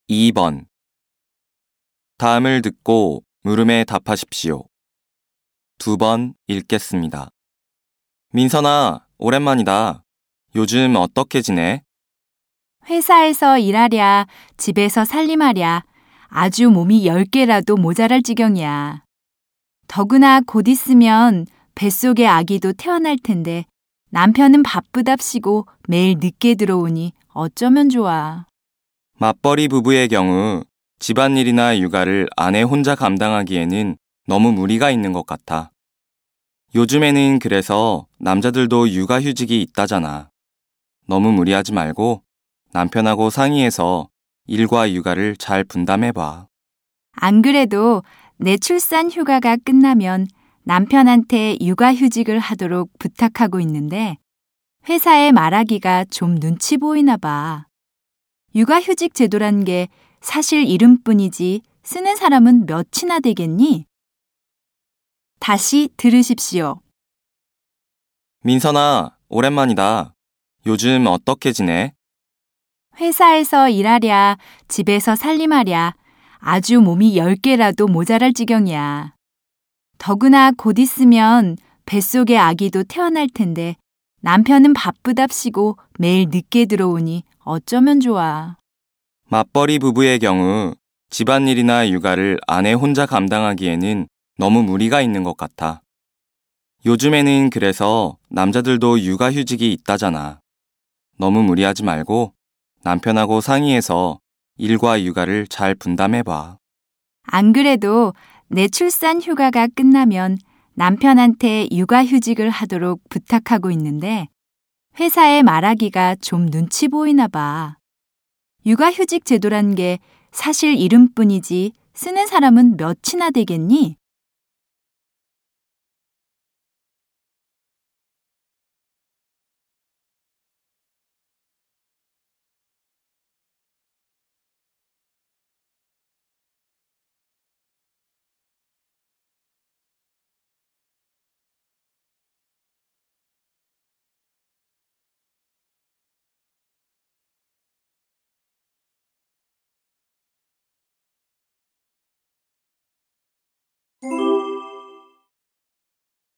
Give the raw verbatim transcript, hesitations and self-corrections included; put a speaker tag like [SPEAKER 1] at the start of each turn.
[SPEAKER 1] 이 번. 다음을 듣고 물음에 답하십시오. 두 번 읽겠습니다. 민선아, 오랜만이다. 요즘 어떻게 지내?
[SPEAKER 2] 회사에서 일하랴, 집에서 살림하랴, 아주 몸이 열 개라도 모자랄 지경이야. 더구나 곧 있으면 뱃속의 아기도 태어날 텐데 남편은 바쁘답시고 매일 늦게 들어오니 어쩌면 좋아.
[SPEAKER 1] 맞벌이 부부의 경우 집안일이나 육아를 아내 혼자 감당하기에는 너무 무리가 있는 것 같아. 요즘에는 그래서 남자들도 육아휴직이 있다잖아. 너무 무리하지 말고 남편하고 상의해서 일과 육아를 잘 분담해봐.
[SPEAKER 2] 안 그래도 내 출산 휴가가 끝나면 남편한테 육아휴직을 하도록 부탁하고 있는데 회사에 말하기가 좀 눈치 보이나 봐. 육아휴직 제도란 게 사실 이름뿐이지 쓰는 사람은 몇이나 되겠니? 다시 들으십시오.
[SPEAKER 1] 민선아, 오랜만이다. 요즘 어떻게 지내?
[SPEAKER 2] 회사에서 일하랴, 집에서 살림하랴, 아주 몸이 열 개라도 모자랄 지경이야. 더구나 곧 있으면 뱃속의 아기도 태어날 텐데 남편은 바쁘답시고 매일 늦게 들어오니 어쩌면 좋아.
[SPEAKER 1] 맞벌이 부부의 경우 집안일이나 육아를 아내 혼자 감당하기에는 너무 무리가 있는 것 같아. 요즘에는 그래서 남자들도 육아휴직이 있다잖아. 너무 무리하지 말고 남편하고 상의해서 일과 육아를 잘 분담해봐.
[SPEAKER 2] 안 그래도 내 출산 휴가가 끝나면 남편한테 육아휴직을 하도록 부탁하고 있는데 회사에 말하기가 좀 눈치 보이나 봐. 육아휴직 제도란 게 사실 이름뿐이지 쓰는 사람은 몇이나 되겠니?